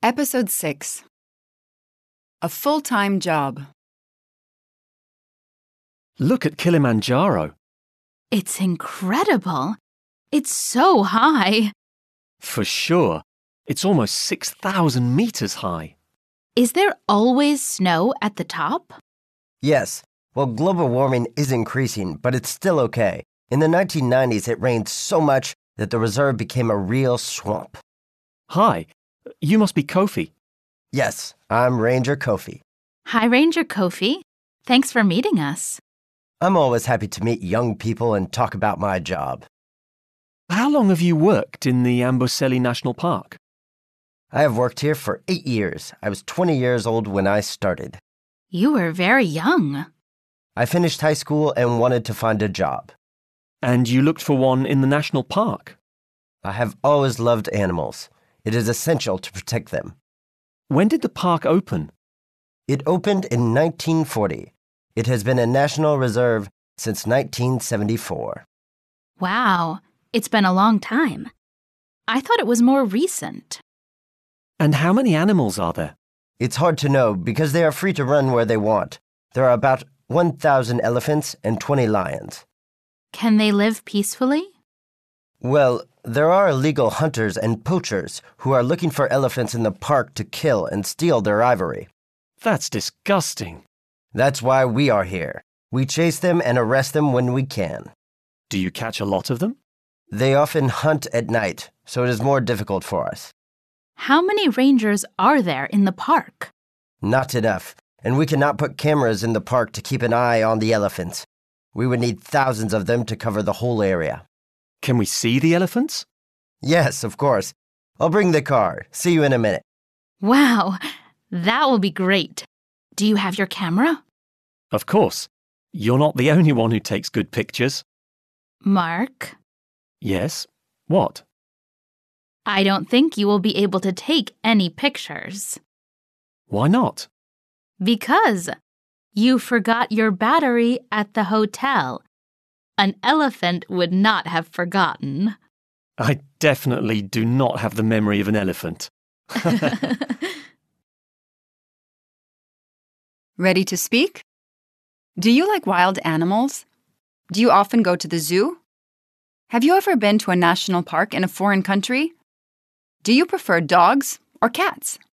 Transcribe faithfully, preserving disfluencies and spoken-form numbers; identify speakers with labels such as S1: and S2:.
S1: Episode six. A full-time job.
S2: Look at Kilimanjaro.
S3: It's incredible. It's so high.
S2: For sure. It's almost six thousand meters high.
S3: Is there always snow at the top?
S4: Yes. Well, global warming is increasing, but it's still okay. In the nineteen nineties, it rained so much that the reserve became a real swamp.
S2: Hi. You must be Kofi.
S4: Yes, I'm Ranger Kofi.
S3: Hi, Ranger Kofi. Thanks for meeting us.
S4: I'm always happy to meet young people and talk about my job.
S2: How long have you worked in the Amboseli National Park?
S4: I have worked here for eight years. I was twenty years old when I started.
S3: You were very young.
S4: I finished high school and wanted to find a job.
S2: And you looked for one in the national park?
S4: I have always loved animals. It is essential to protect them.
S2: When did the park open?
S4: It opened in nineteen forty. It has been a national reserve since nineteen seventy-four.
S3: Wow, it's been a long time. I thought it was more recent.
S2: And how many animals are there?
S4: It's hard to know because they are free to run where they want. There are about one thousand elephants and twenty lions.
S3: Can they live peacefully?
S4: Well, there are illegal hunters and poachers who are looking for elephants in the park to kill and steal their ivory.
S2: That's disgusting.
S4: That's why we are here. We chase them and arrest them when we can.
S2: Do you catch a lot of them?
S4: They often hunt at night, so it is more difficult for us.
S3: How many rangers are there in the park?
S4: Not enough, and we cannot put cameras in the park to keep an eye on the elephants. We would need thousands of them to cover the whole area.
S2: Can we see the elephants?
S4: Yes, of course. I'll bring the car. See you in a minute.
S3: Wow, that will be great. Do you have your camera?
S2: Of course. You're not the only one who takes good pictures.
S3: Mark?
S2: Yes? What?
S3: I don't think you will be able to take any pictures.
S2: Why not?
S3: Because you forgot your battery at the hotel. An elephant would not have forgotten.
S2: I definitely do not have the memory of an elephant.
S1: Ready to speak? Do you like wild animals? Do you often go to the zoo? Have you ever been to a national park in a foreign country? Do you prefer dogs or cats?